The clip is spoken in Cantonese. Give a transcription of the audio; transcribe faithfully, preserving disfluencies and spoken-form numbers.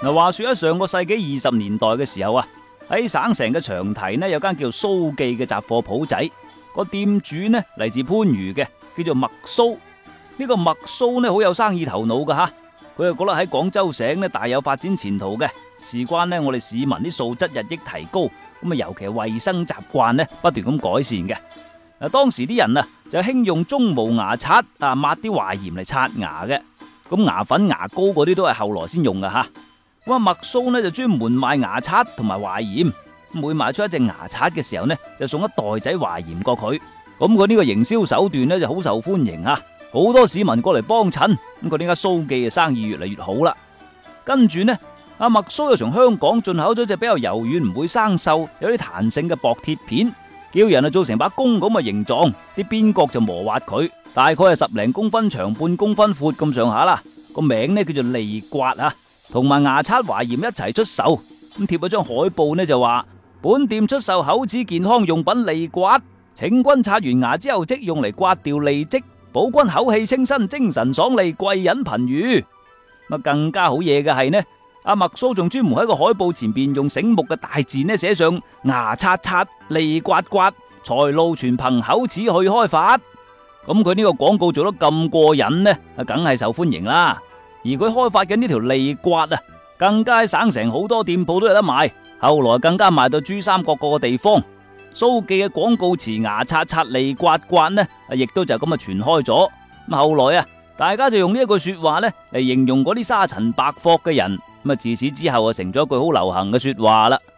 嗱，話說喺上個世紀二十年代嘅時候啊，喺省城嘅長堤呢，有間叫蘇記嘅雜貨鋪仔，個店主呢嚟自番禺嘅，叫做麥蘇。呢個麥蘇呢好有生意頭腦噶吓，佢又覺得喺廣州省呢大有發展前途嘅。事關呢我哋市民啲素質日益提高，咁啊尤其係衛生習慣呢不斷咁改善嘅。嗱，當時啲人啊就興用中毛牙刷啊抹啲壞鹽嚟刷牙嘅，咁牙粉牙膏嗰啲都係後來先用噶吓。咁啊麥蘇呢就專門賣牙刷同埋壞鹽，每賣出一隻牙刷嘅時候呢就送一袋仔壞鹽過佢。咁佢呢個營銷手段呢就好受歡迎啊，好多市民過嚟幫襯，咁佢呢間蘇記嘅生意越嚟越好啦。跟住呢阿麥蘇又從香港進口咗隻比較柔軟唔會生鏽有啲彈性嘅薄鐵片，叫人啊做成把弓咁嘅形狀，啲邊角就磨滑佢，大概係十零公分長，半公分闊咁上下啦。個名呢叫做利刮啊，同埋牙刷壞鹽一齊出售。咁貼咗張海報呢就話本店出售口齒健康用品利刮，請君刷完牙之後即用嚟刮掉利積，保君口氣清新，精神爽利，貴人頻遇。咁更加好嘢嘅係呢，阿麥蘇仲專門喺個海報前邊用醒目嘅大字呢寫上牙刷刷利刮刮，財路全憑口齒去開發。咁佢呢個廣告做得咁過癮呢，啊梗係受歡迎啦。而佢開發嘅呢條利刮啊，更加喺省城好多店鋪都有得賣，後來更加賣到珠三角各個地方。蘇記嘅廣告詞牙刷刷利刮刮呢，亦都就咁啊傳開咗。咁後來啊，大家就用呢一句說話呢嚟形容嗰啲沙塵白霍嘅人。咁啊，自此之後啊，成咗一句好流行嘅說話啦。